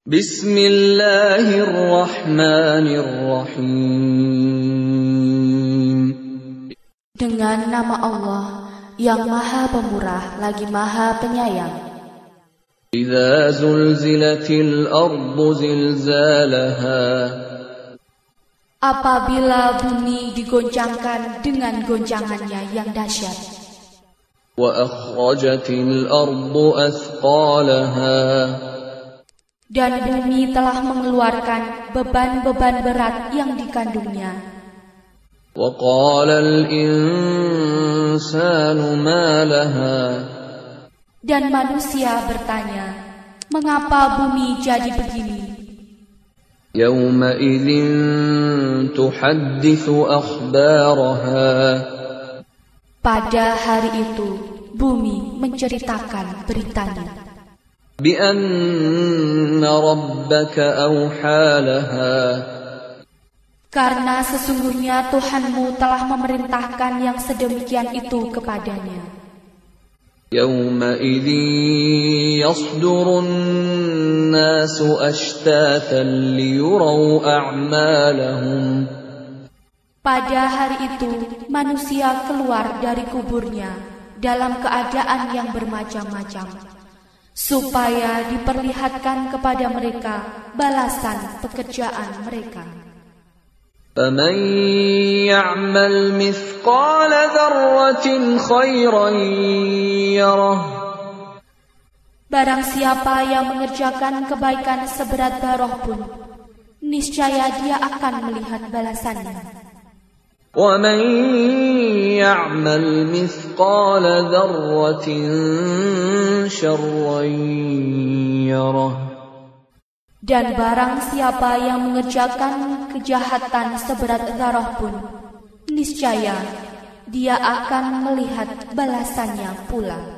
Bismillahirrahmanirrahim. Dengan nama Allah yang Maha Pemurah lagi Maha Penyayang. Idza zulzilatil ardu zilzalaha. Apabila bumi digoncangkan dengan goncangannya yang dahsyat. Wa akhrajatil ardu athqalaha. Dan bumi telah mengeluarkan beban-beban berat yang dikandungnya. Wa qalal insanu ma laha. Dan manusia bertanya, mengapa bumi jadi begini? Yawma idzin tuhadditsu akhbaraha. Pada hari itu, bumi menceritakan beritanya. Bi'anna rabbaka awha laha. Karena sesungguhnya Tuhanmu telah memerintahkan yang sedemikian itu kepadanya. Yawma idzin yasdurun nasu ashtatan liyuraw a'malahum. Pada hari itu, manusia keluar dari kuburnya dalam keadaan yang bermacam-macam, supaya diperlihatkan kepada mereka balasan pekerjaan mereka. فَمَنْ يَعْمَلْ مِثْقَالَ ذَرَّةٍ خَيْرًا يَرَهُ. Barang siapa yang mengerjakan kebaikan seberat zarah pun, niscaya dia akan melihat balasannya. وَمَنْ يَعْمَلْ مِثْقَالَ ذَرَّةٍ شَرًّا يَرَهُ. Dan barang siapa yang mengerjakan kejahatan seberat zarah pun, niscaya dia akan melihat balasannya pula.